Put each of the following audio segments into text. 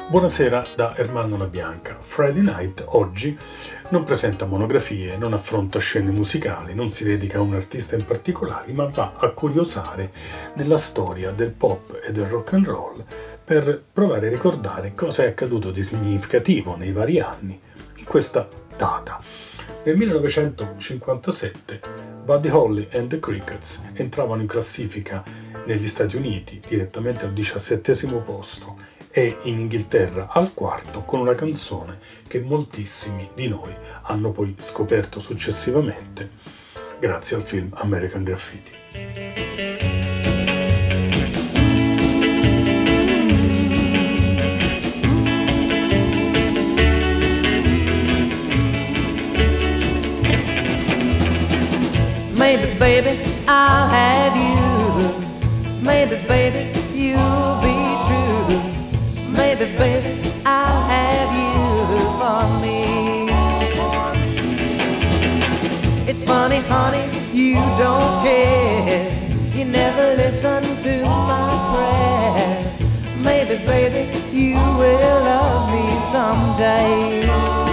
Buonasera da Ermanno La Bianca. Friday Night oggi non presenta monografie, non affronta scene musicali, non si dedica a un artista in particolare, ma va a curiosare nella storia del pop e del rock and roll per provare a ricordare cosa è accaduto di significativo nei vari anni in questa data. Nel 1957 Buddy Holly and the Crickets entravano in classifica negli Stati Uniti direttamente al 17° posto e in Inghilterra al 4° con una canzone che moltissimi di noi hanno poi scoperto successivamente grazie al film American Graffiti. Maybe baby I'll have you, maybe baby you'll be true, maybe baby I'll have you for me. It's funny honey, you don't care, you never listen to my prayer. Maybe baby you will love me someday.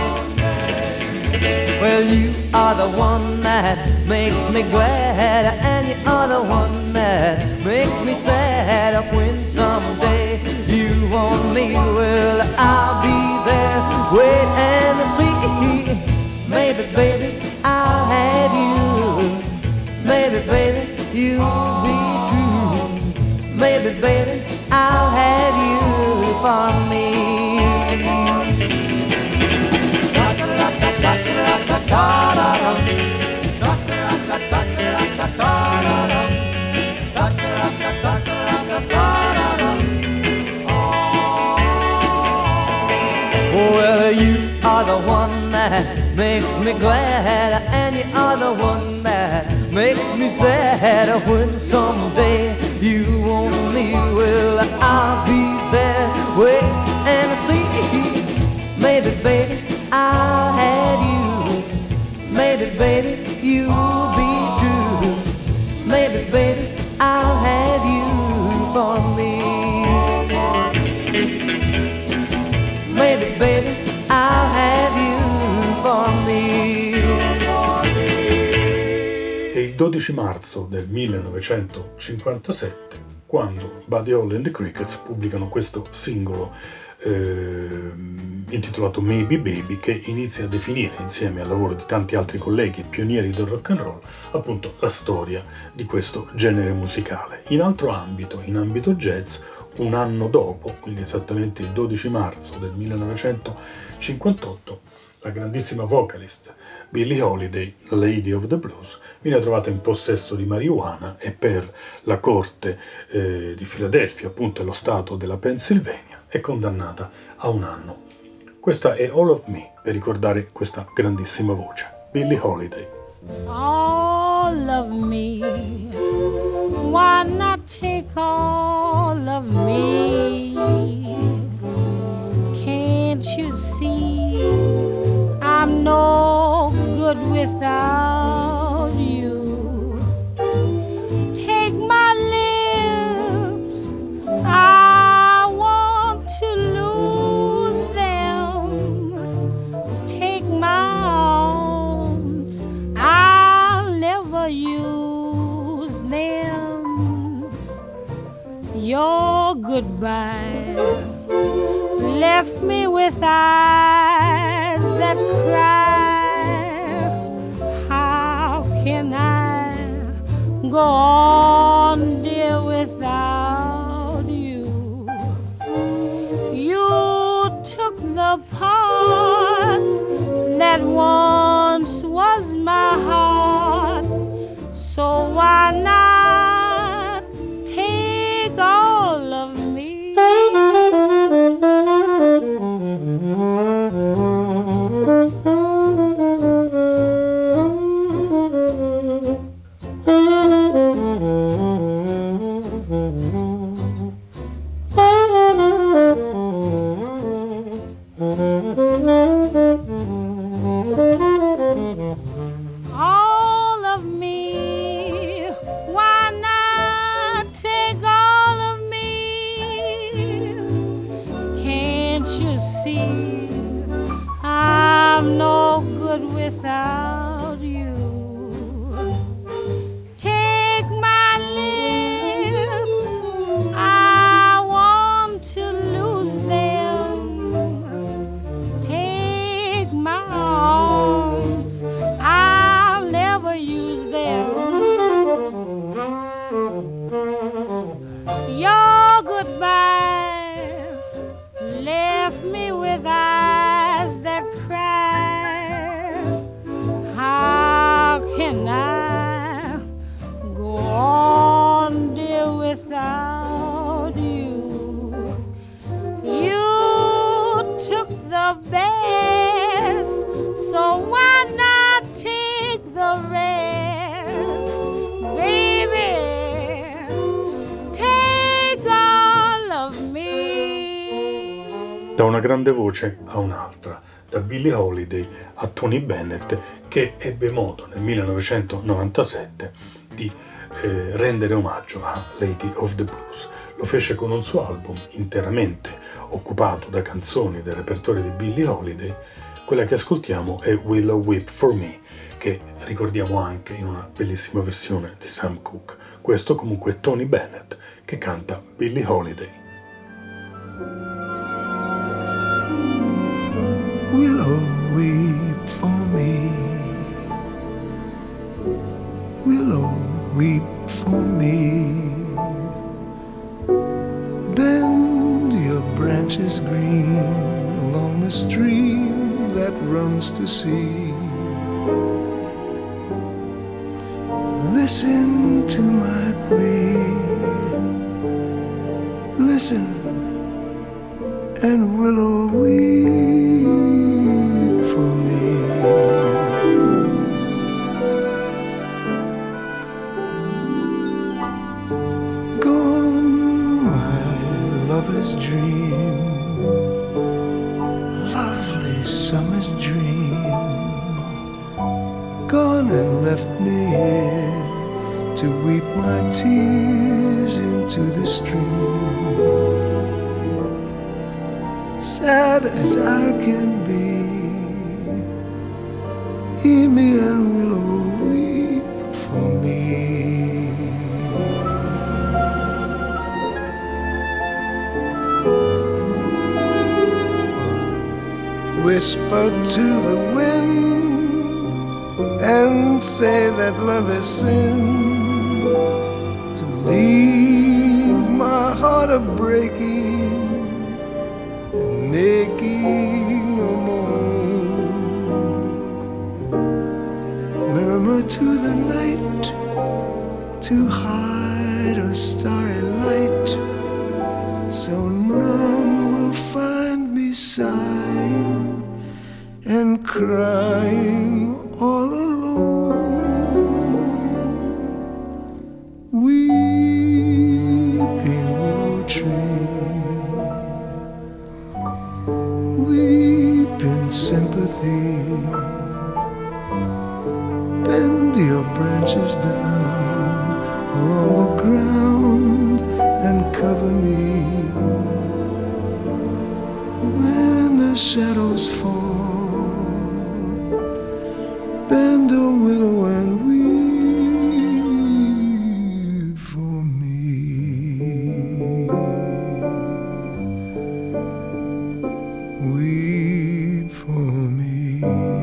Well, you are the one that makes me glad, and you are the one that makes me sad. When someday you want me, well, I'll be there, wait and see. Maybe, baby, I'll have you. Maybe, baby, you'll be true. Maybe, baby, I'll have you for me. Well, you are the one that makes me glad, and you are the one that makes me sad. When someday you want me, well, I'll be there, wait and see. Maybe, baby, I'll have you. Maybe, baby, you'll be true. Maybe, baby, I'll have you for me. Maybe, baby, I'll have you for me. È il 12 marzo del 1957 quando Buddy Holly and the Crickets pubblicano questo singolo intitolato Maybe Baby, che inizia a definire, insieme al lavoro di tanti altri colleghi pionieri del rock and roll, appunto la storia di questo genere musicale. In altro ambito, in ambito jazz, un anno dopo, quindi esattamente il 12 marzo del 1958, la grandissima vocalist Billie Holiday, Lady of the Blues, viene trovata in possesso di marijuana e per la corte di Filadelfia, appunto lo stato della Pennsylvania, è condannata a 1 anno. Questa è All of Me, per ricordare questa grandissima voce, Billie Holiday. All of me, why not take all of me? Can't you see I'm no good without you? Take my lips, I want to lose them. Take my arms, I'll never use them. Your goodbye left me with eyes that cry. How can I go on, dear, without you? You took the part that once was my heart, so why not take all of me? All of me you see, I'm no good without you. Take my lips, I want to lose them. Take my arms, I'll never use them. Your goodbye left me with eyes that cry. How can I go on, dear, without you? You took the best, so why not take the rest? Baby, take all of me. Da una grande voce a un'altra, da Billie Holiday a Tony Bennett, che ebbe modo nel 1997 di rendere omaggio a Lady of the Blues. Lo fece con un suo album interamente occupato da canzoni del repertorio di Billie Holiday. Quella che ascoltiamo è Willow Weep for Me, che ricordiamo anche in una bellissima versione di Sam Cooke. Questo comunque è Tony Bennett che canta Billie Holiday. Willow, weep for me. Willow, weep for me. Bend your branches green along the stream that runs to sea. Listen to my plea. Listen, and willow, weep for me. Gone, my lover's dream, lovely summer's dream. Gone and left me here to weep my tears into the stream. Sad as I can be, hear me and willow, weep for me. Whisper to the wind and say that love is sin, to leave my heart a-breaking, making a moan. Murmur to the night to hide a starry light, so none will find me sighing and crying all alone. Weeping willow tree, weep in sympathy. Bend your branches down along the ground and cover me. When the shadows fall, bend a willow and weep for me. Weep for me.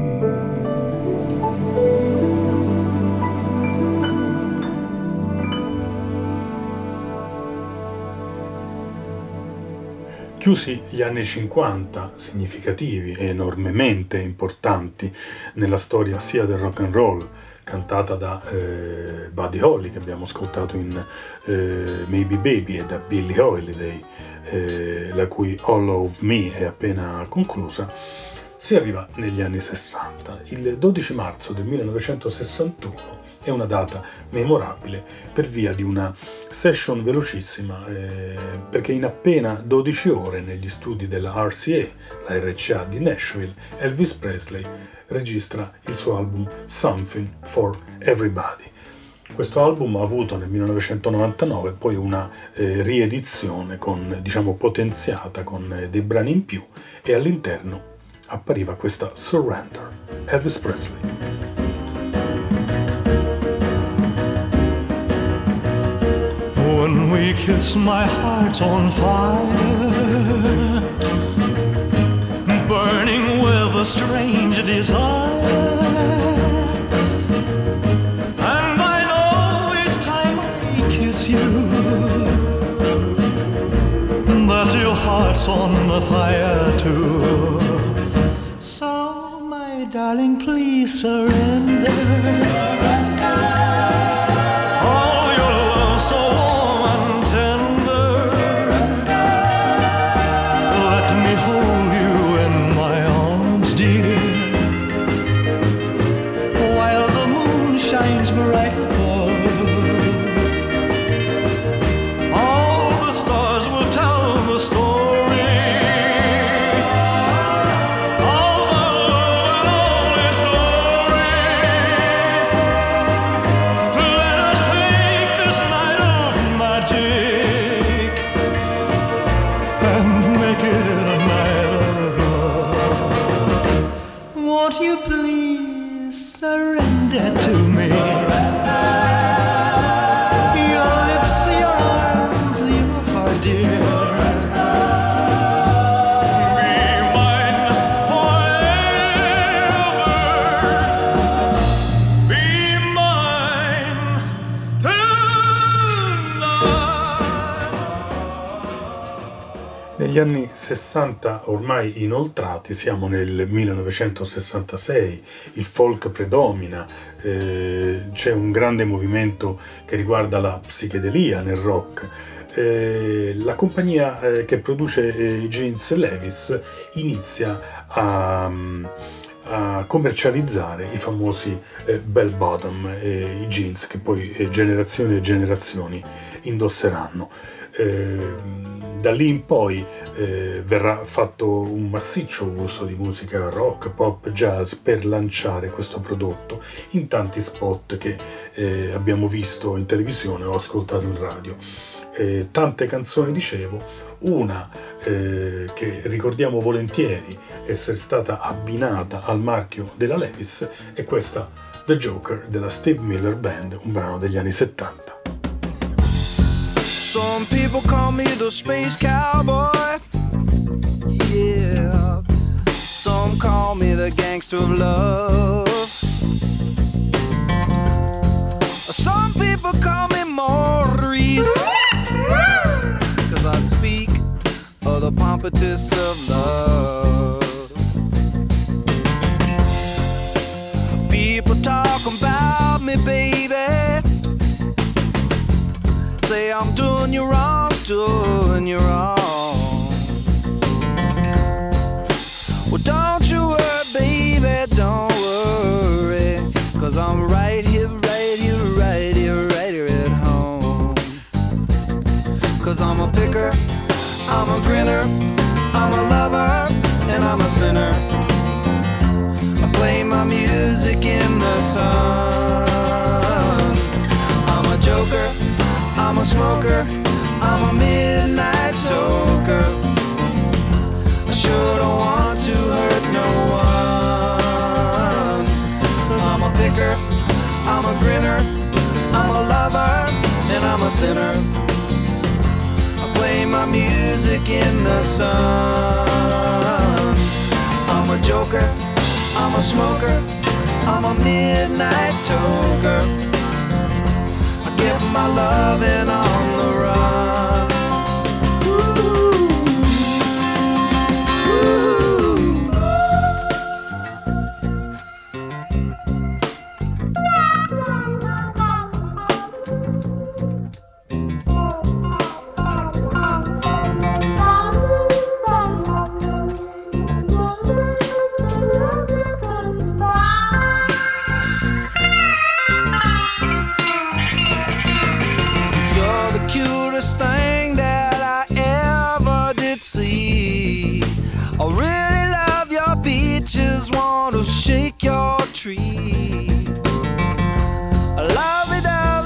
Chiusi gli anni 50, significativi e enormemente importanti nella storia sia del rock and roll, cantata da Buddy Holly, che abbiamo ascoltato in Maybe Baby, e da Billie Holiday, la cui All of Me è appena conclusa, si arriva negli anni 60. Il 12 marzo del 1961 è una data memorabile per via di una session velocissima, perché in appena 12 ore negli studi della RCA, la RCA di Nashville, Elvis Presley registra il suo album Something for Everybody. Questo album ha avuto nel 1999 poi una riedizione con, diciamo, potenziata con dei brani in più, e all'interno appariva questa Surrender, Elvis Presley. When we kiss, my heart's on fire, burning with a strange desire. And I know each time I kiss you that your heart's on fire too. So, my darling, please surrender. Negli anni 60 ormai inoltrati, siamo nel 1966, il folk predomina, c'è un grande movimento che riguarda la psichedelia nel rock. La compagnia che produce i jeans Levi's inizia a commercializzare i famosi bell bottom, i jeans che poi generazioni e generazioni indosseranno. Da lì in poi verrà fatto un massiccio uso di musica rock, pop, jazz per lanciare questo prodotto in tanti spot che abbiamo visto in televisione o ascoltato in radio. Tante canzoni, dicevo, una che ricordiamo volentieri essere stata abbinata al marchio della Levi's è questa The Joker della Steve Miller Band, un brano degli anni 70. Some people call me the space cowboy, yeah. Some call me the gangster of love. Some people call me Maurice, 'cause I speak of the pompatus of love. People talk about me, baby, say I'm doing you wrong, doing you wrong. Well, don't you worry, baby, don't worry, 'cause I'm right here, right here, right here, right here at home. 'Cause I'm a picker, I'm a grinner, I'm a lover, and I'm a sinner. I play my music in the sun. I'm a joker, I'm a smoker, I'm a midnight toker. I sure don't want to hurt no one. I'm a picker, I'm a grinner, I'm a lover, and I'm a sinner. I play my music in the sun. I'm a joker, I'm a smoker, I'm a midnight toker. Get my loving on the run. Ooh. Ooh. Thing that I ever did see. I really love your beaches, want to shake your tree. I love it,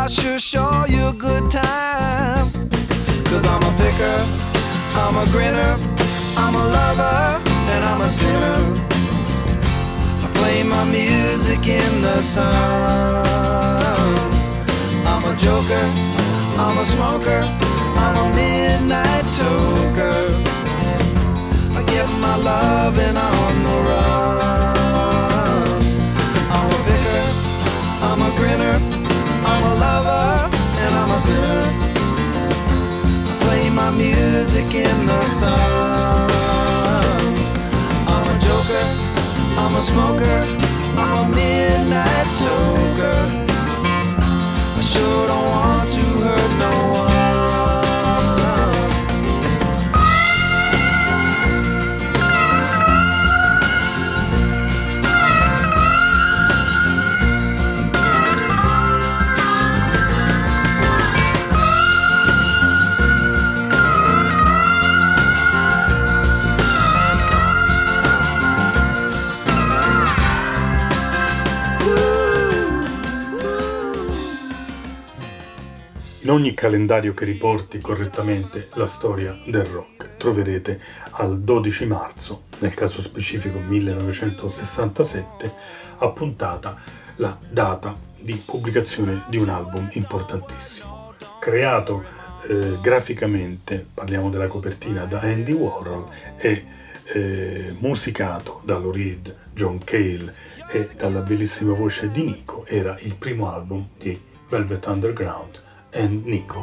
I'll sure show you a good time. 'Cause I'm a picker, I'm a grinner, I'm a lover, and I'm a sinner. I play my music in the sun. I'm a joker, I'm a smoker, I'm a midnight toker. I get my loving on the run. I'm a picker, I'm a grinner, I'm a lover, and I'm a sinner. I play my music in the sun. I'm a joker, I'm a smoker, I'm a midnight toker. I sure don't want to hurt no one. In ogni calendario che riporti correttamente la storia del rock troverete al 12 marzo, nel caso specifico 1967, appuntata la data di pubblicazione di un album importantissimo. Creato graficamente, parliamo della copertina, da Andy Warhol e musicato da Lou Reed, John Cale e dalla bellissima voce di Nico, era il primo album di Velvet Underground and Nico.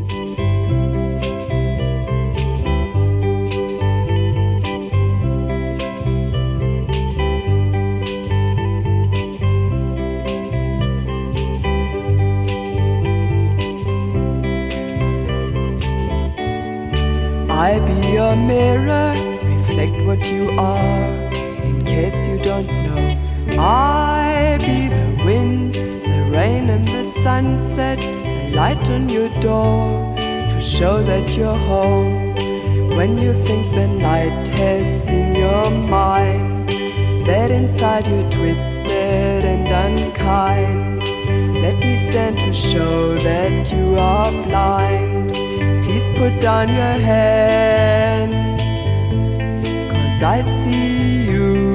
I be your mirror, reflect what you are, in case you don't know. I be the wind, the rain and the sunset, the light on your door, to show that you're home. When you think the night has seen your mind, that inside you're twisted and unkind, let me stand to show that you are blind. Please put down your hands, 'cause I see you.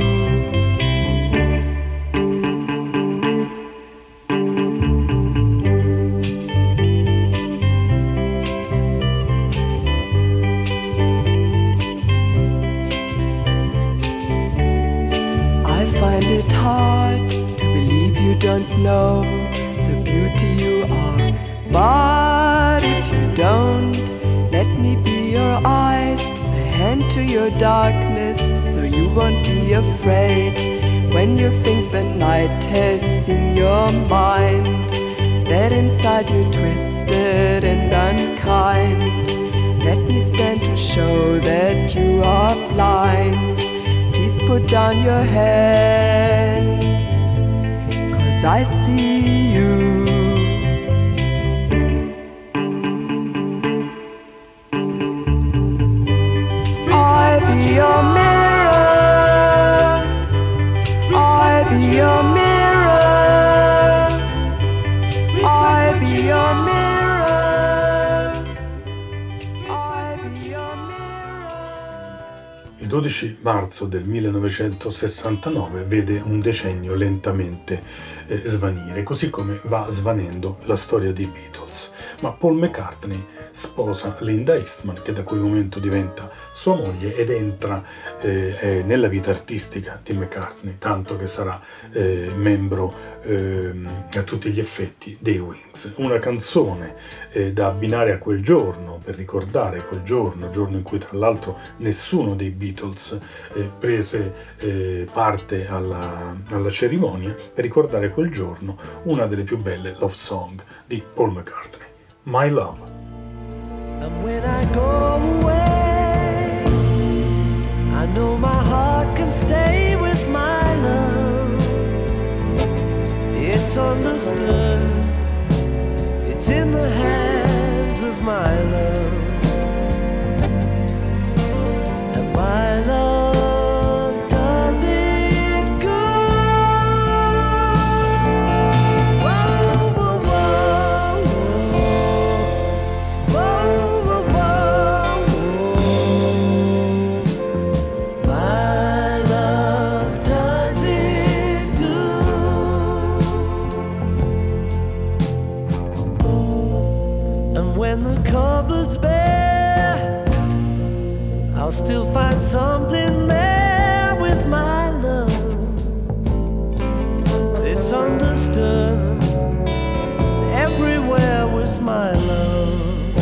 I find it hard to believe you don't know the beauty you are, but if you don't, let me be your eyes, the hand to your darkness, so you won't be afraid. When you think the night has seen your mind, that inside you're twisted and unkind, let me stand to show that you are blind. Please put down your hands, 'cause I see you. Your mirror, I be your mirror, I be your mirror, I be your mirror. Il 12 marzo del 1969 vede un decennio lentamente svanire, così come va svanendo la storia dei Beatles. Ma Paul McCartney sposa Linda Eastman, che da quel momento diventa sua moglie ed entra nella vita artistica di McCartney, tanto che sarà membro a tutti gli effetti dei Wings. Una canzone da abbinare a quel giorno, per ricordare quel giorno in cui tra l'altro nessuno dei Beatles prese parte alla cerimonia, per ricordare quel giorno, una delle più belle love song di Paul McCartney, My Love. And when I go away, I know my heart can stay with my love. It's understood, it's in the hands of my love. And my love does it good. Whoa, whoa, whoa. And when the cupboard's bare, I'll still find something there with my love. It's understood, it's everywhere with my love.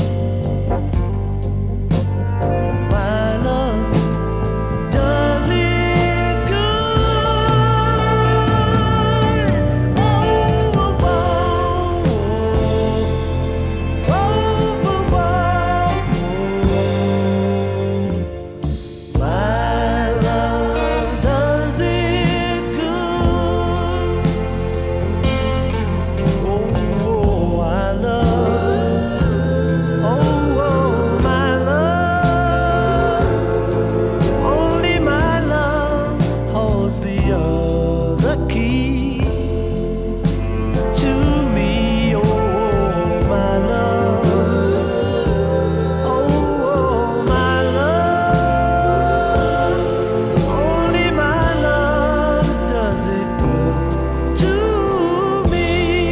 My love does it good. Oh, oh, oh, oh, oh, oh. My love does it good. Oh, oh, I love. Oh, oh, my love. Only my love holds the other key to me. Oh, my love. Oh, my love. Only my love does it good to me.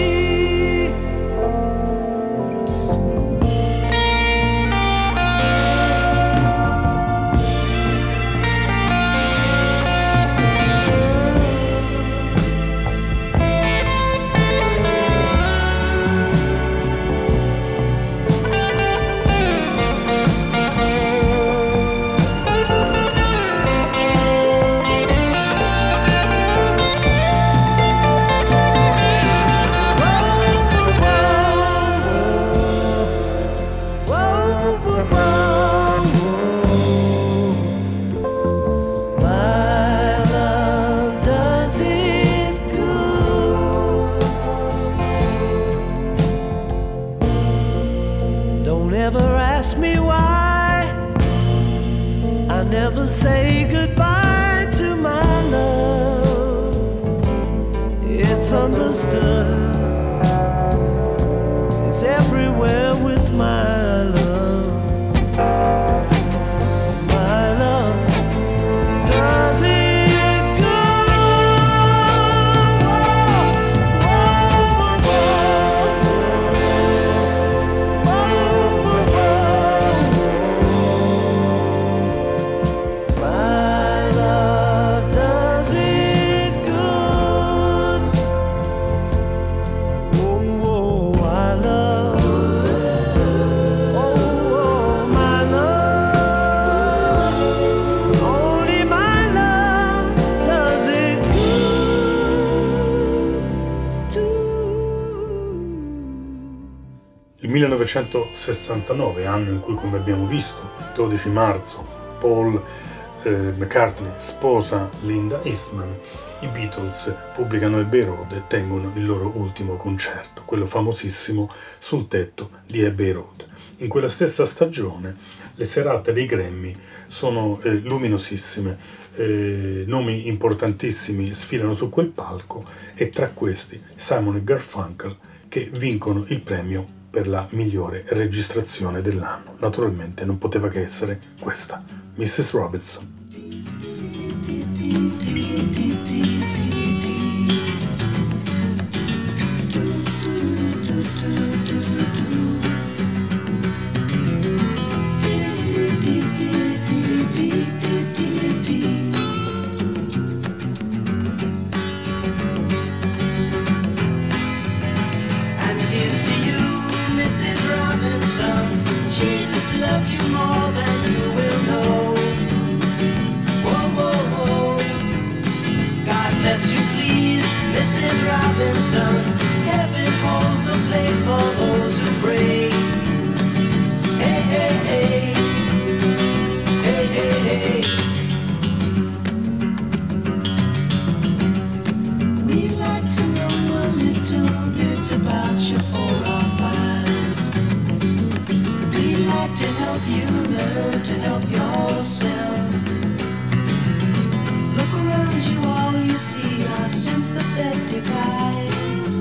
My love does it good. Don't ever ask me why. I never say goodbye to my love. It's understood. It's everywhere with my love. My love does it good. My love does it good. Oh, I love. Oh, my love. Only my love does it good too. Il 1969, anno in cui, come abbiamo visto, il 12 marzo, Paul McCartney sposa Linda Eastman, i Beatles pubblicano Abbey Road e tengono il loro ultimo concerto, quello famosissimo sul tetto di Abbey Road. In quella stessa stagione le serate dei Grammy sono luminosissime, nomi importantissimi sfilano su quel palco e tra questi Simon e Garfunkel, che vincono il premio per la migliore registrazione dell'anno. Naturalmente non poteva che essere questa, Mrs. Robinson. And here's to you, Mrs. Robinson. Jesus loves you more than you will know. Whoa, whoa, whoa. God bless you, please, Mrs. Robinson. Heaven holds a place for those who pray. Hey, hey, hey. Hey, hey, hey. We'd like to know a little bit about your 4 or 5s. We'd like to help you learn to help yourself. Look around you, all you see are sympathetic eyes.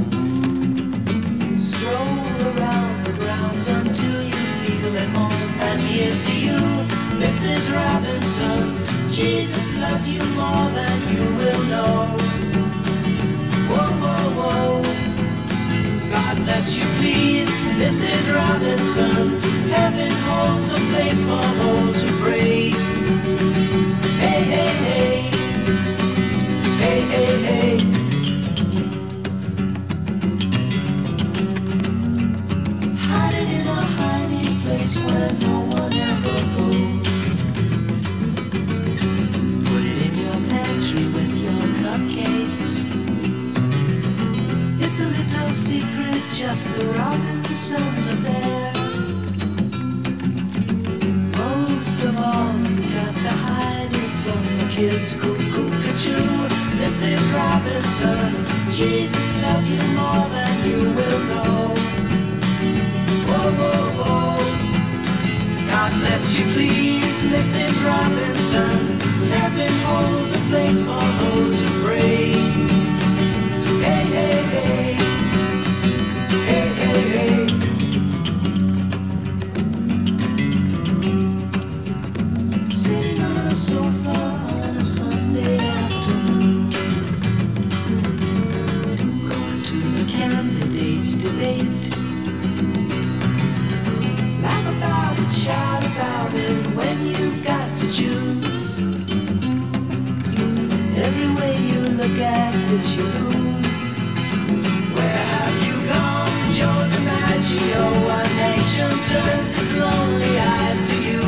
Stroll around the grounds until you feel at home. And here's to you, Mrs. Robinson. Jesus loves you more than you will know. Whoa, whoa, whoa. God bless you, please, Mrs. Robinson. Heaven holds a place for those who pray. Hey, hey, hey. Hey, hey, hey. Hiding in a hiding place where no one ever goes. Put it in your pantry with your cupcakes. It's a little secret, just the Robinsons affair. Most of all, you got to hide it from the kids. Cuckoo-ca-choo, Mrs. Robinson. Jesus loves you more than you will know. Whoa, whoa, whoa. God bless you, please, Mrs. Robinson. Heaven holds a place for those who pray. Hey, hey, hey. Hey, hey, hey. Sitting on a sofa on a Sunday afternoon, going to the candidates' debate. Laugh about it, shout about it when you've got to choose. Every way you look at it, you lose. Where have you gone, Joe DiMaggio? A nation turns its lonely eyes to you.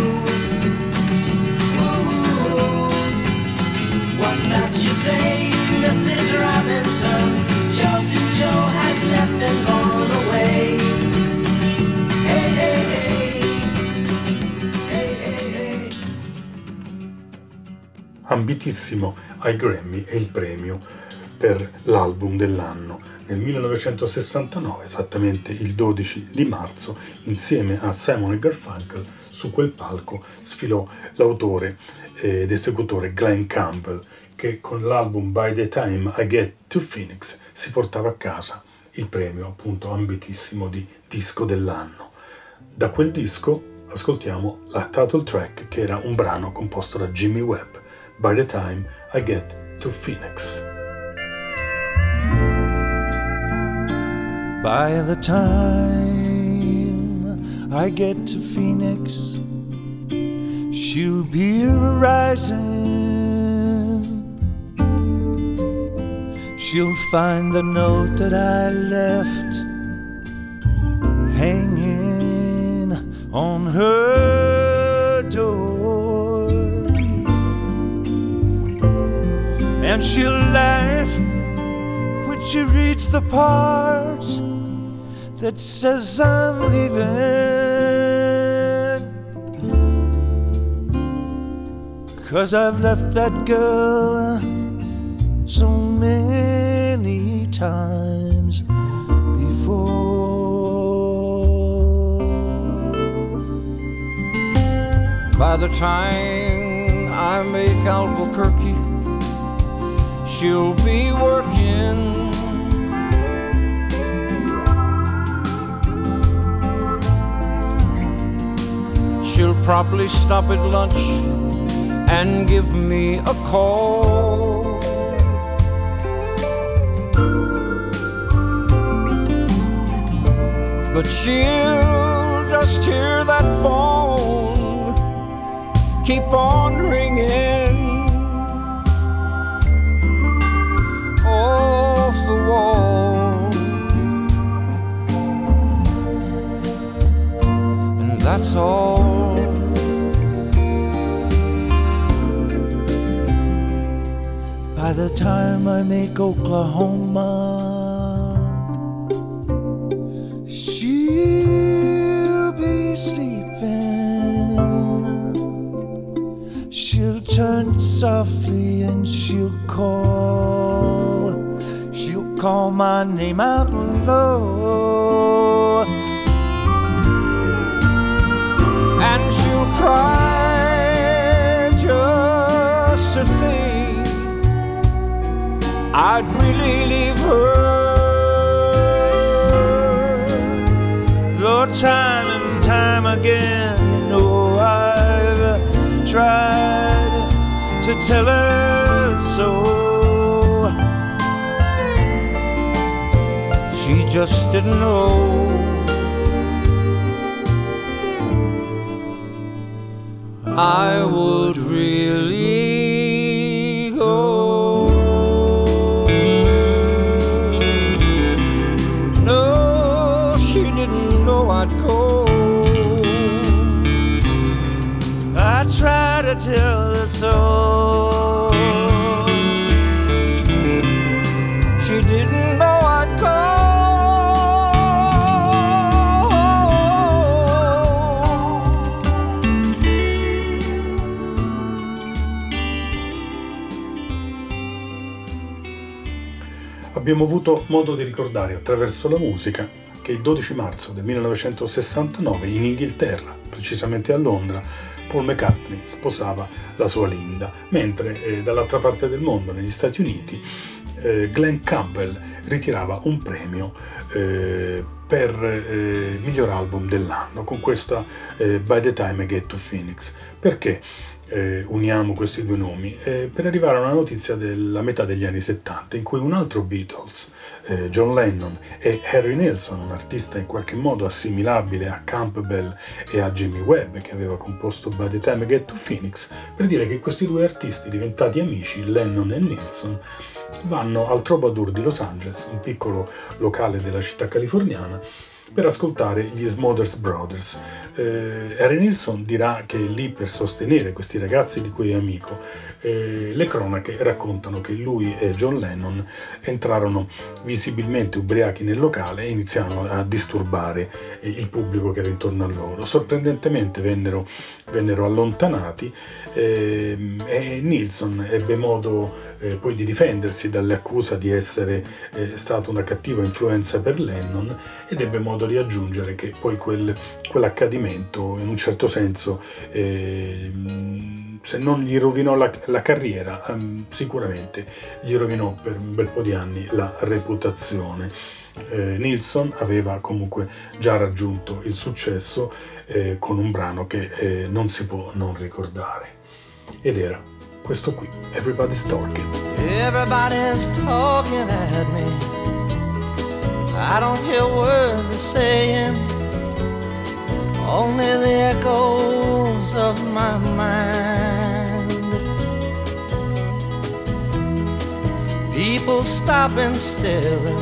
Ooh, what's that you say, Mrs. Robinson? Jolton Joe has left and gone away. Hey, hey, hey. Hey, hey, hey. Ambitissimo ai Grammy è il premio per l'album dell'anno. Nel 1969, esattamente il 12 di marzo, insieme a Simon & Garfunkel, su quel palco sfilò l'autore ed esecutore Glenn Campbell, che con l'album By the Time I Get to Phoenix si portava a casa il premio appunto ambitissimo di disco dell'anno. Da quel disco ascoltiamo la title track, che era un brano composto da Jimmy Webb, By the Time I Get to Phoenix. By the time I get to Phoenix, she'll be rising. She'll find the note that I left hanging on her door, and she'll laugh when she reads the part that says I'm leaving, 'cause I've left that girl so many times before. By the time I make Albuquerque, she'll be working. She'll probably stop at lunch and give me a call. But she'll just hear that phone keep on ringing off the wall, and that's all. By the time I make Oklahoma, she'll be sleeping. She'll turn softly and she'll call my name out low, and she'll cry just to think I'd really leave her. Though time and time again, you know, I've tried to tell her so. She just didn't know. I would really go. No, she didn't know I'd go. I tried to tell her so. She didn't know I'd go. Abbiamo avuto modo di ricordare attraverso la musica che il 12 marzo del 1969 in Inghilterra, precisamente a Londra, Paul McCartney sposava la sua Linda, mentre dall'altra parte del mondo, negli Stati Uniti, Glenn Campbell ritirava un premio per miglior album dell'anno con questa By the Time I Get to Phoenix. Perché uniamo questi due nomi? Per arrivare a una notizia della metà degli anni 70 in cui un altro Beatles, John Lennon, e Harry Nilsson, un artista in qualche modo assimilabile a Campbell e a Jimmy Webb che aveva composto By the Time I Get to Phoenix, per dire che questi due artisti diventati amici, Lennon e Nilsson, vanno al Troubadour di Los Angeles, un piccolo locale della città californiana, per ascoltare gli Smothers Brothers. Harry Nilsson dirà che è lì per sostenere questi ragazzi di cui è amico. Le cronache raccontano che lui e John Lennon entrarono visibilmente ubriachi nel locale e iniziarono a disturbare il pubblico che era intorno a loro. Sorprendentemente vennero allontanati e Nilsson ebbe modo poi di difendersi dalle accuse di essere stato una cattiva influenza per Lennon ed ebbe modo di aggiungere che poi quell'accadimento in un certo senso se non gli rovinò la carriera, sicuramente gli rovinò per un bel po' di anni la reputazione. Nilsson aveva comunque già raggiunto il successo con un brano che non si può non ricordare, ed era questo qui, Everybody's Talking. Everybody's talking at me. I don't hear words they're saying, only the echoes of my mind. People stopping still,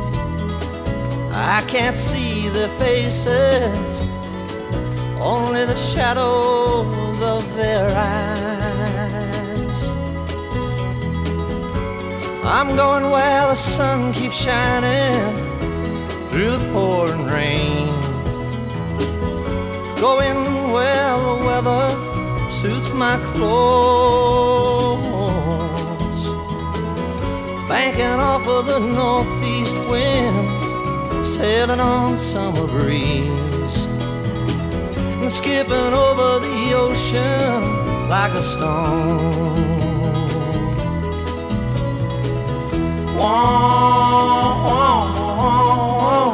I can't see their faces, only the shadows of their eyes. I'm going where the sun keeps shining through the pouring rain, going where the weather suits my clothes, banking off of the northeast winds, sailing on summer breeze, and skipping over the ocean like a stone. Wah, wah, wah,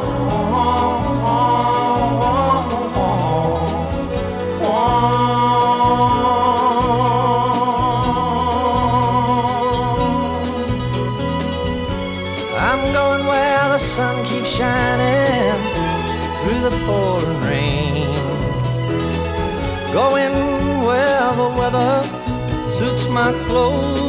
I'm going where the sun keeps shining through the pouring rain, going where the weather suits my clothes,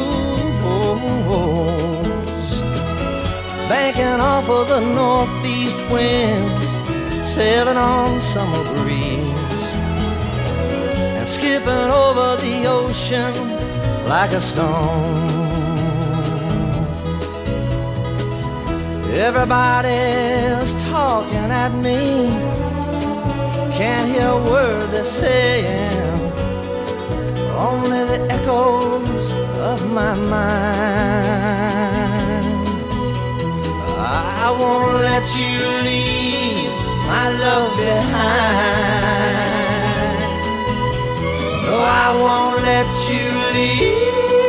banking off of the northeast winds, sailing on summer breeze, and skipping over the ocean like a stone. Everybody's talking at me, can't hear a word they're saying, only the echoes of my mind. I won't let you leave my love behind. No, I won't let you leave.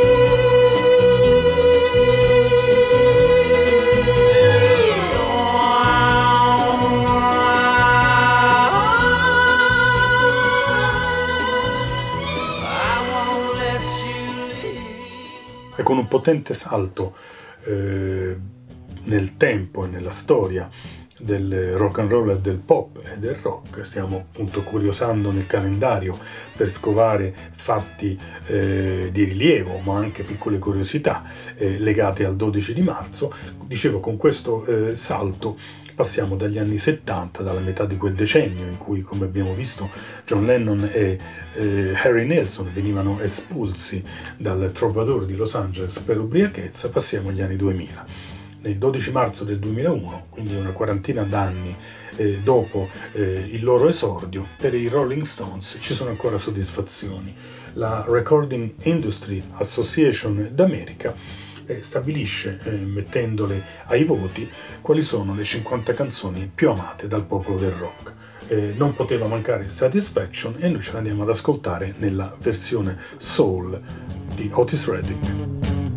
E con un potente salto nel tempo e nella storia del rock and roll e del pop e del rock. Stiamo appunto curiosando nel calendario per scovare fatti di rilievo, ma anche piccole curiosità legate al 12 di marzo. Dicevo, con questo salto passiamo dagli anni 70, dalla metà di quel decennio in cui, come abbiamo visto, John Lennon e Harry Nilsson venivano espulsi dal Troubadour di Los Angeles per ubriachezza. Passiamo agli anni 2000. Nel 12 marzo del 2001, quindi una quarantina d'anni dopo il loro esordio, per i Rolling Stones ci sono ancora soddisfazioni. La Recording Industry Association d'America stabilisce, mettendole ai voti, quali sono le 50 canzoni più amate dal popolo del rock. Non poteva mancare Satisfaction e noi ce l'andiamo ad ascoltare nella versione soul di Otis Redding.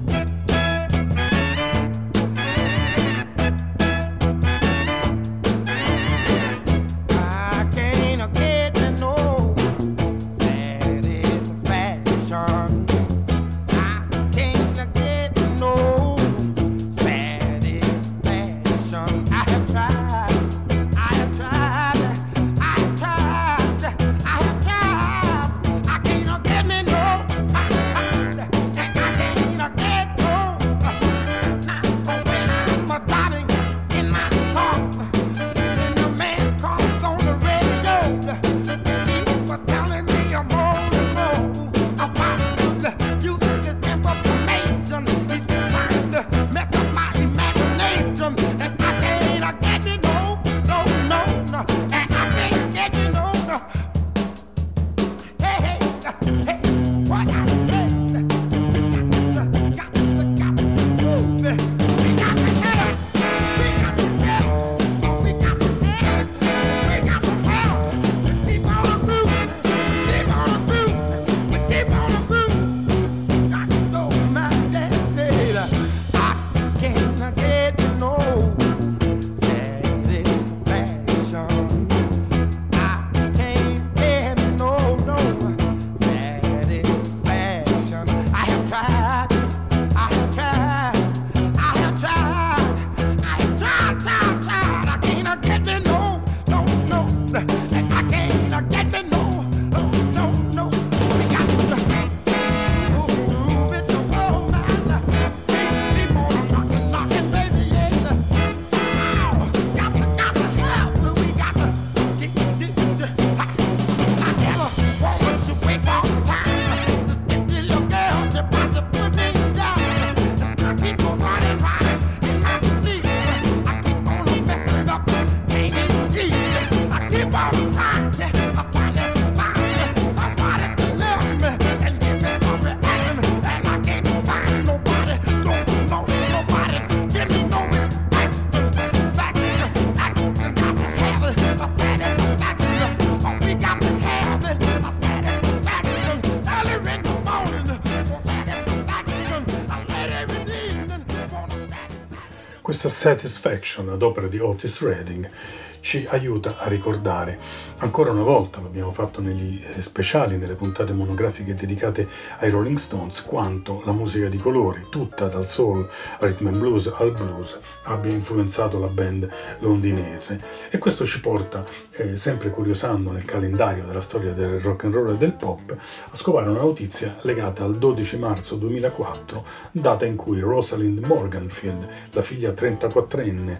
Questa Satisfaction ad opera di Otis Redding ci aiuta a ricordare ancora una volta, l'abbiamo fatto negli speciali, nelle puntate monografiche dedicate ai Rolling Stones, quanto la musica di colori, tutta dal soul, rhythm and blues al blues, abbia influenzato la band londinese. E questo ci porta, sempre curiosando nel calendario della storia del rock and roll e del pop, a scovare una notizia legata al 12 marzo 2004, data in cui Rosalind Morganfield, la figlia 34enne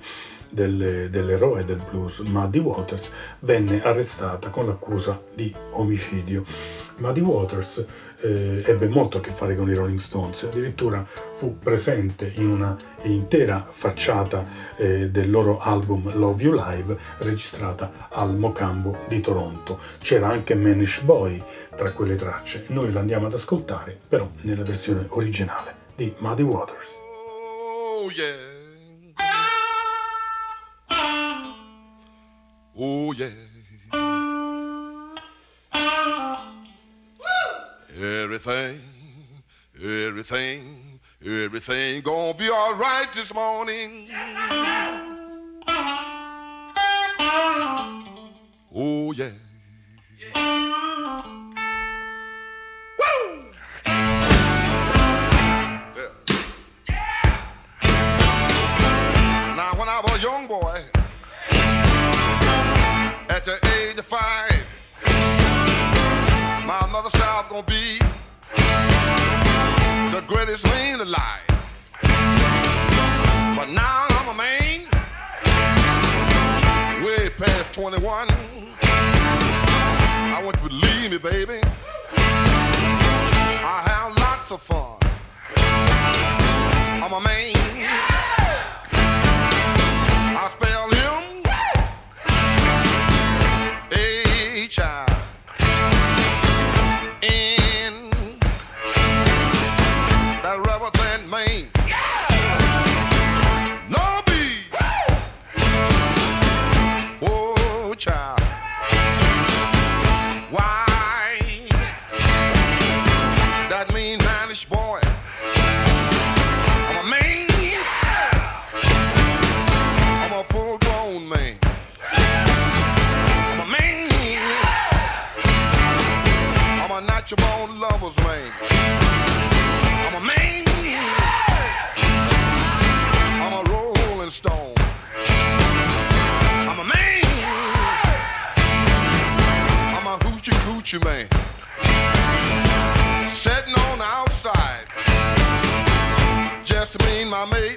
dell'eroe del blues Muddy Waters, venne arrestata con l'accusa di omicidio. Muddy Waters ebbe molto a che fare con i Rolling Stones, addirittura fu presente in una intera facciata del loro album Love You Live, registrata al Mocambo di Toronto. C'era anche Manish Boy tra quelle tracce. Noi l'andiamo ad ascoltare però nella versione originale di Muddy Waters. Oh yeah. Oh yeah. Everything gonna be all right this morning. Oh yeah. Woo! Now when I was a young boy, gonna be the greatest man alive. But now I'm a man, way past 21. I want you to believe me, baby. I have lots of fun. I'm a man. I spell him H-I-N. That rubber band man. No B. Oh, child. Why? That mean manish boy. I'm a man. I'm a full-grown man. I'm a man. I'm a natural-born lover's man. I'm a man. I'm a rolling stone. I'm a man. I'm a hoochie coochie man. Sitting on the outside, just me and my mate.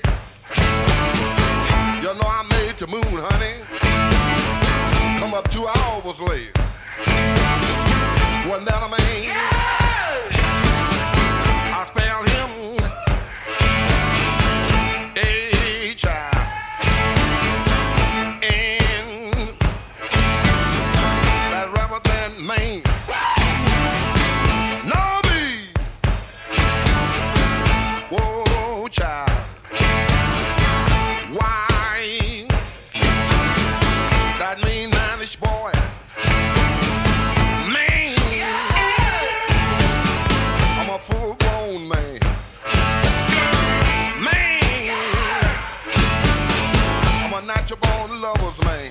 You know I made the moon, honey. Come up 2 hours late. Wasn't that a man? I spelled him H-I-N. That rubber band man. No B. Whoa, child. Why? That mean manish boy. Man. I'm a full-grown man. Man. I'm a natural-born lover's man.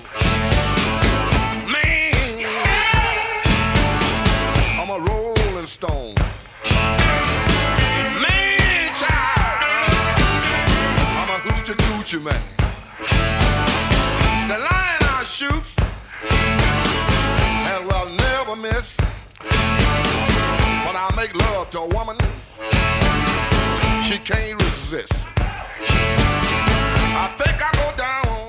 Man. I'm a rolling stone. Man, child. I'm a hoochie coochie man. The lion I shoot and will never miss. When I make love to a woman, she can't resist. I think I go down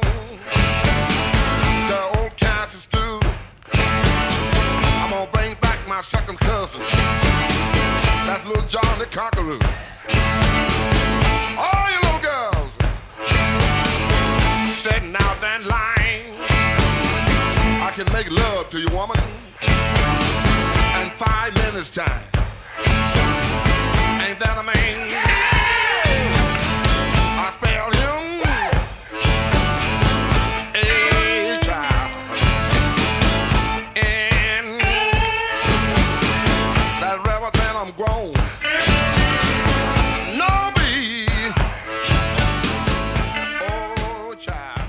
to old Kansas too. I'm gonna bring back my second cousin. That's little John the Conqueror. All you little girls sitting out that line, I can make love to you, woman, in 5 minutes time. Ain't that a man? I spelled him H-I-N. That rubber band I'm grown. No B. Oh, child.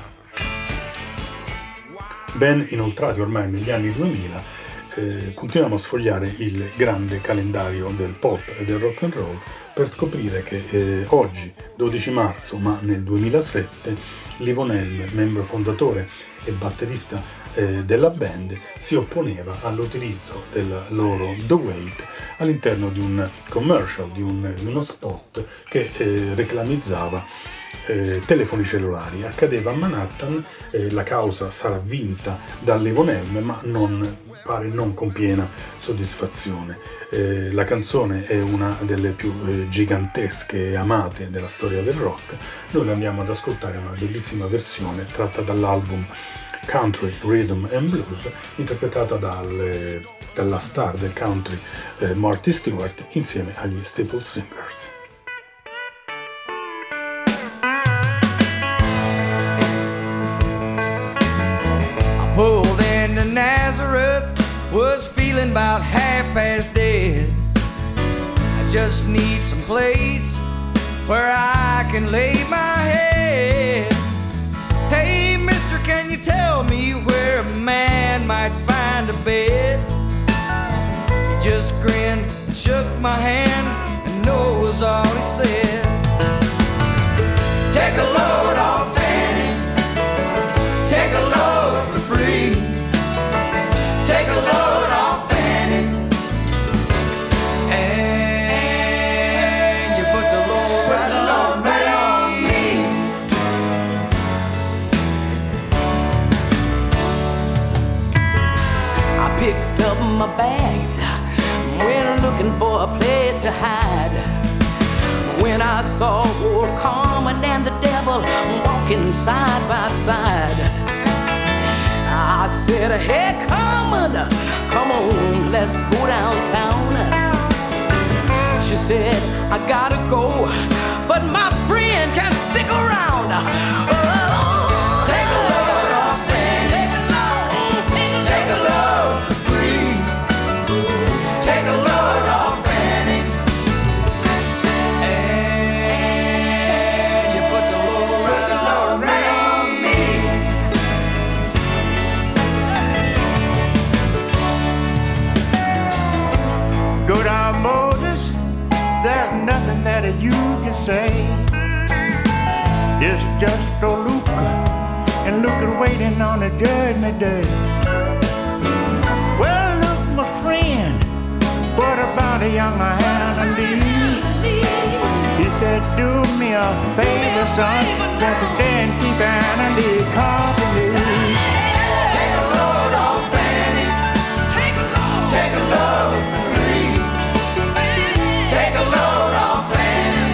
Ben inoltrati ormai negli anni 2000, continuiamo a sfogliare il grande calendario del pop e del rock and roll per scoprire che oggi, 12 marzo, ma nel 2007, Livonel, membro fondatore e batterista della band, si opponeva all'utilizzo del loro The Wait all'interno di un commercial, di uno spot che reclamizzava telefoni cellulari. Accadeva a Manhattan, la causa sarà vinta da Livonel, ma pare non con piena soddisfazione. La canzone è una delle più gigantesche e amate della storia del rock. Noi la andiamo ad ascoltare, una bellissima versione tratta dall'album Country, Rhythm and Blues, interpretata dalla star del country Marty Stewart insieme agli Staple Singers. Pulled into Nazareth, was feeling about half past dead. I just need some place where I can lay my head. Hey, mister, can you tell me where a man might find a bed? He just grinned and shook my hand, and no was all he said. Take a load off Fanny, take a load for free. Take a load off Fanny, picked up my bags, went looking for a place to hide. When I saw old Carmen and the devil walking side by side, I said, hey Carmen, come on, let's go downtown. She said, I gotta go, but my friend can stick around. Take a load off, friend. Take a load for free. Take a load off, Fanny. And you put the load right on me. Good old Moses, there's nothing that you can say. It's just old Luca, and Luca waiting on the judgment day. Well, look, my friend, what about a young Hannah Lee? He said, do me a favor, son, got to stay and keep Hannah Lee company. Take a load off, Fanny. Take a load. Take a load for free. Take a load off, Fanny.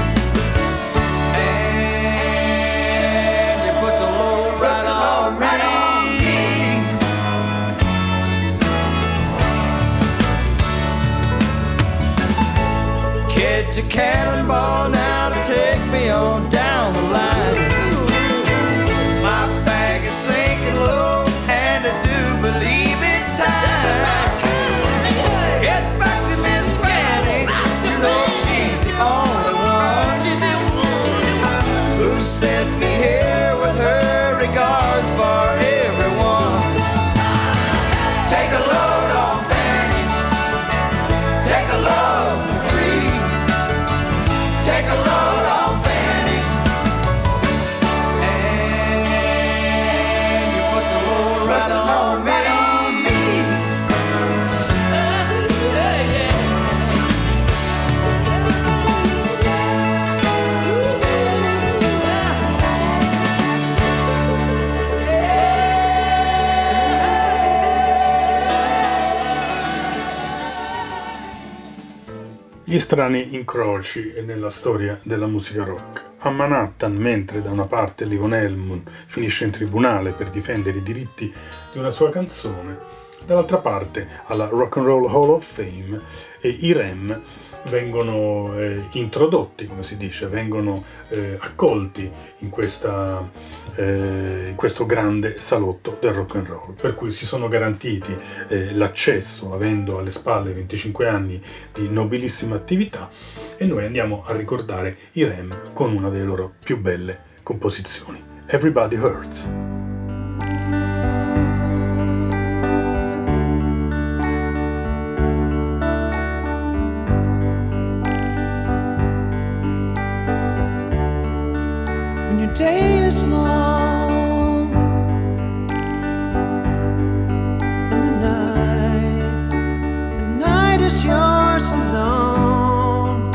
And you put the load right on me. Catch a cannonball now to take me on down the line. My bag is sinking low, and I do believe it's time. Get back to Miss Fanny, you know she's the only one who sent me here with her regards for everyone. Take a load on Fanny, take a load for free. Take a load off, Fanny. And you put the load right on me. Gli strani incroci nella storia della musica rock. A Manhattan, mentre da una parte Levon Helm finisce in tribunale per difendere i diritti di una sua canzone, dall'altra parte alla Rock and Roll Hall of Fame i Rem vengono introdotti, come si dice, vengono accolti in questo grande salotto del rock and roll, per cui si sono garantiti l'accesso, avendo alle spalle 25 anni di nobilissima attività, e noi andiamo a ricordare i Rem con una delle loro più belle composizioni, Everybody Hurts. Your day is long and the night is yours alone.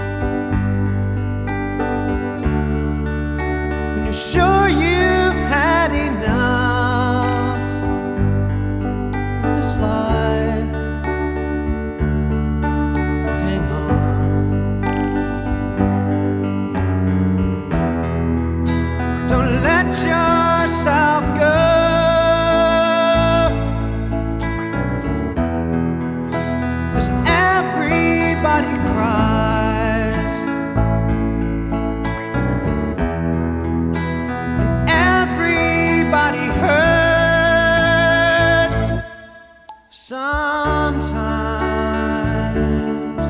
When you're sure you've had enough of this life, hang on. Don't let yourself go, 'cause everybody cries and everybody hurts sometimes.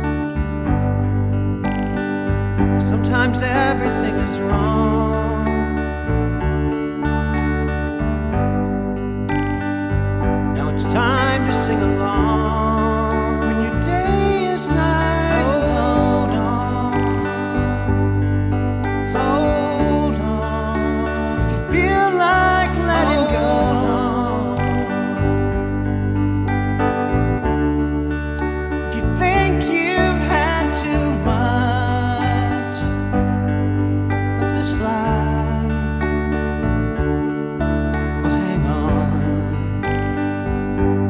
Sometimes everything is wrong. It's time to sing along. When your day is night, hold on, hold on. If you feel like letting go, if you think you've had too much of this life, well, hang on.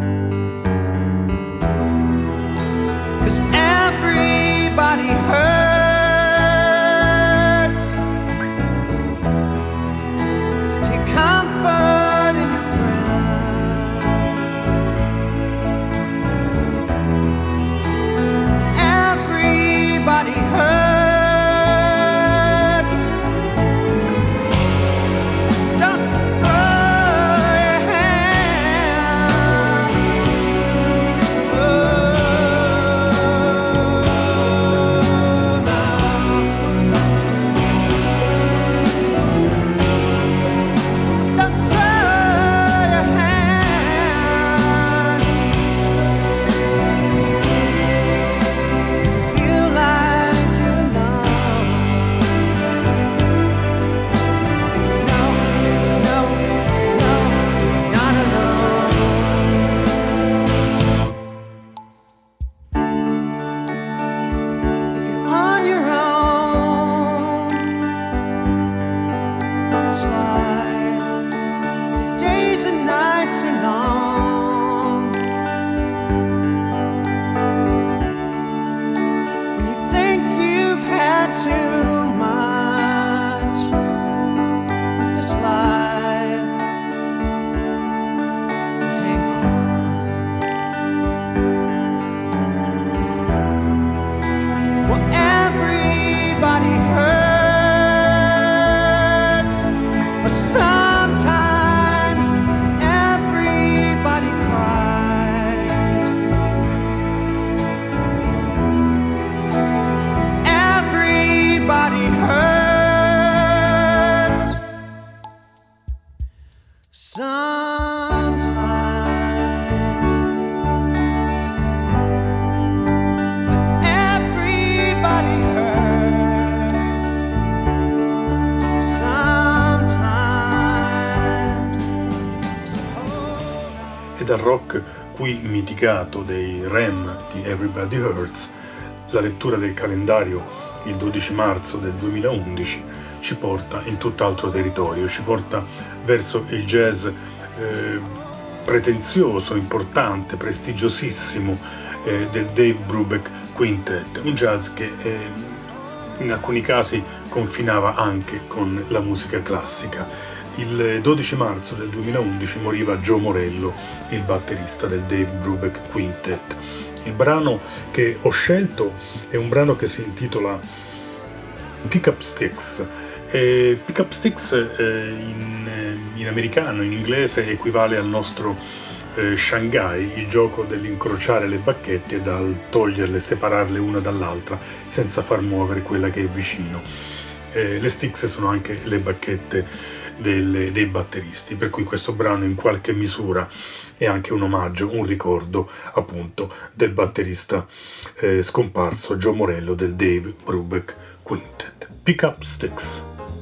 e dal rock qui mitigato dei Rem di Everybody Hurts, la lettura del calendario il 12 marzo del 2011 ci porta in tutt'altro territorio, ci porta verso il jazz pretenzioso, importante, prestigiosissimo del Dave Brubeck Quintet, un jazz che in alcuni casi confinava anche con la musica classica. Il 12 marzo del 2011 moriva Joe Morello, il batterista del Dave Brubeck Quintet. Il brano che ho scelto è un brano che si intitola Pick Up Sticks. Pick Up Sticks in americano, in inglese, equivale al nostro Shanghai, il gioco dell'incrociare le bacchette e dal toglierle, separarle una dall'altra senza far muovere quella che è vicino. Le sticks sono anche le bacchette dei batteristi, per cui questo brano in qualche misura è anche un omaggio, un ricordo appunto del batterista scomparso Joe Morello del Dave Brubeck Quintet. Pick Up Sticks.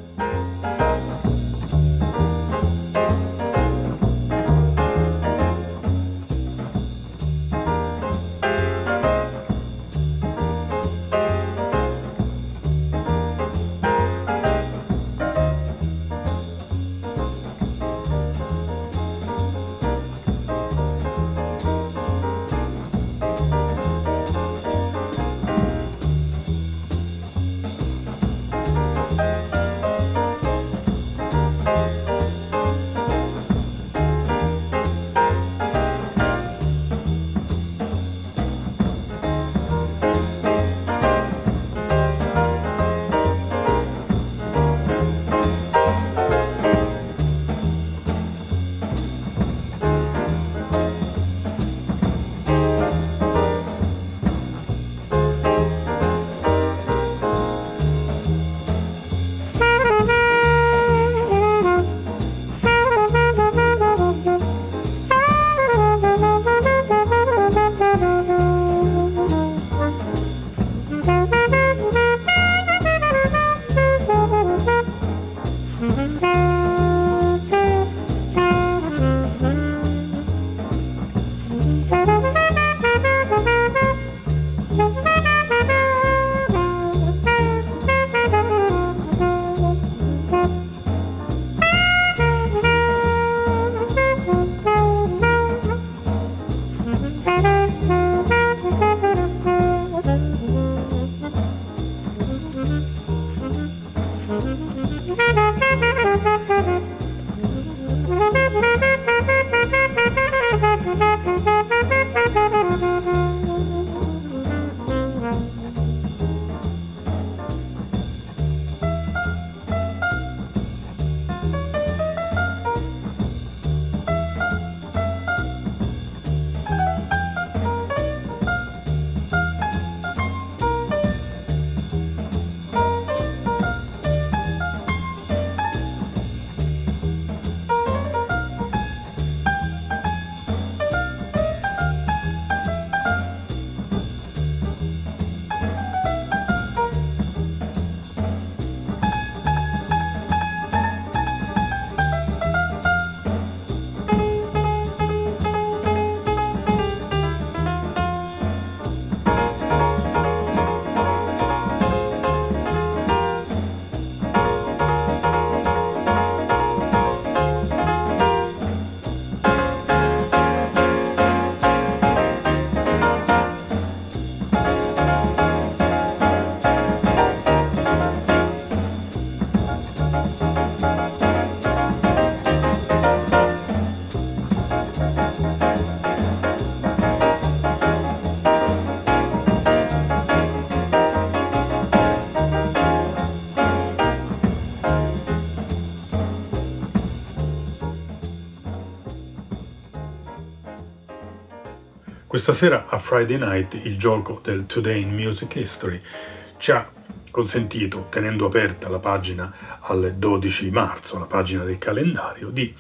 Questa sera a Friday Night il gioco del Today in Music History ci ha consentito, tenendo aperta la pagina al 12 marzo, la pagina del calendario, di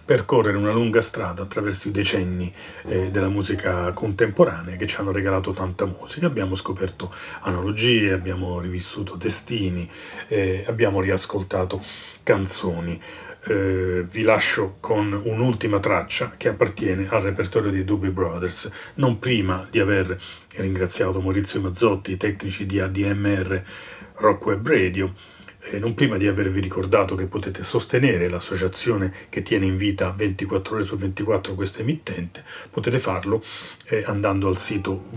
percorrere una lunga strada attraverso i decenni della musica contemporanea che ci hanno regalato tanta musica. Abbiamo scoperto analogie, abbiamo rivissuto destini, abbiamo riascoltato canzoni. Vi lascio con un'ultima traccia che appartiene al repertorio dei Doobie Brothers, non prima di aver ringraziato Maurizio Mazzotti, i tecnici di ADMR Rock Web Radio, non prima di avervi ricordato che potete sostenere l'associazione che tiene in vita 24 ore su 24 questa emittente. Potete farlo andando al sito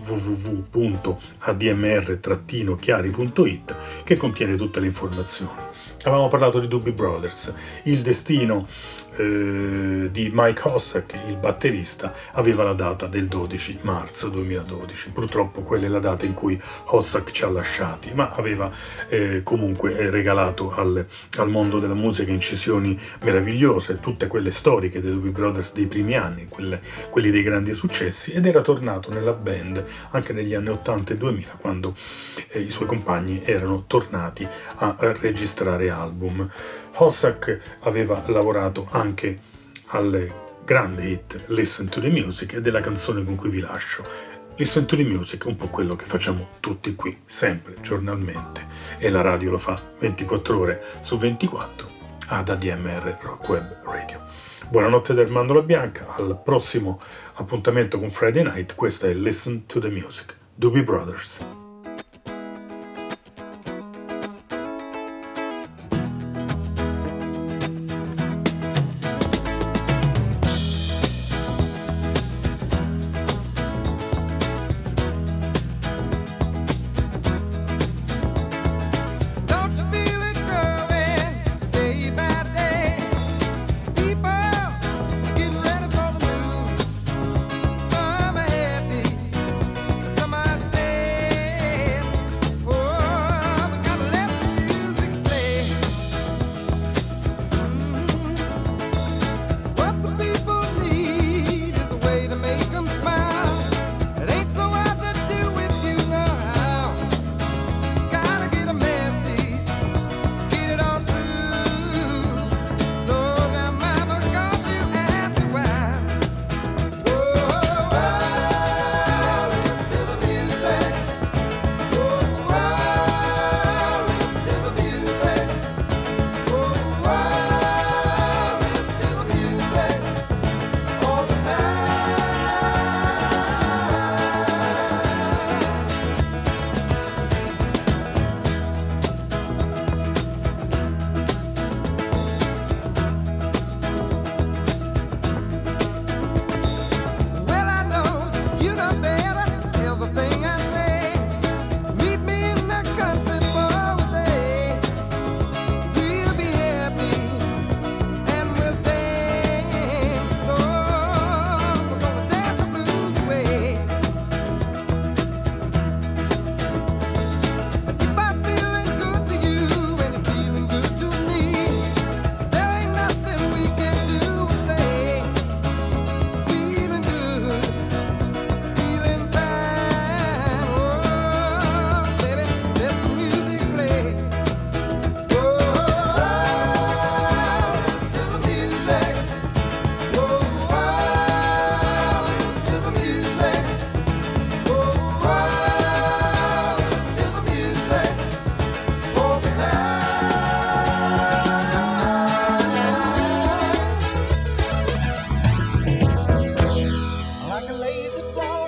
www.admr-chiari.it, che contiene tutte le informazioni. Avevamo parlato di Doobie Brothers. Il destino di Mike Hossack, il batterista, aveva la data del 12 marzo 2012. Purtroppo quella è la data in cui Hossack ci ha lasciati, ma aveva comunque regalato al mondo della musica incisioni meravigliose, tutte quelle storiche dei Doobie Brothers dei primi anni, quelli dei grandi successi, ed era tornato nella band anche negli anni 80 e 2000, quando i suoi compagni erano tornati a registrare album. Hossack aveva lavorato anche al grande hit Listen to the Music, ed è la canzone con cui vi lascio. Listen to the Music è un po' quello che facciamo tutti qui, sempre, giornalmente, e la radio lo fa 24 ore su 24 ad ADMR Rock Web Radio. Buonanotte da Armando La Bianca, al prossimo appuntamento con Friday Night. Questa è Listen to the Music, Doobie Brothers. Like a lazy fly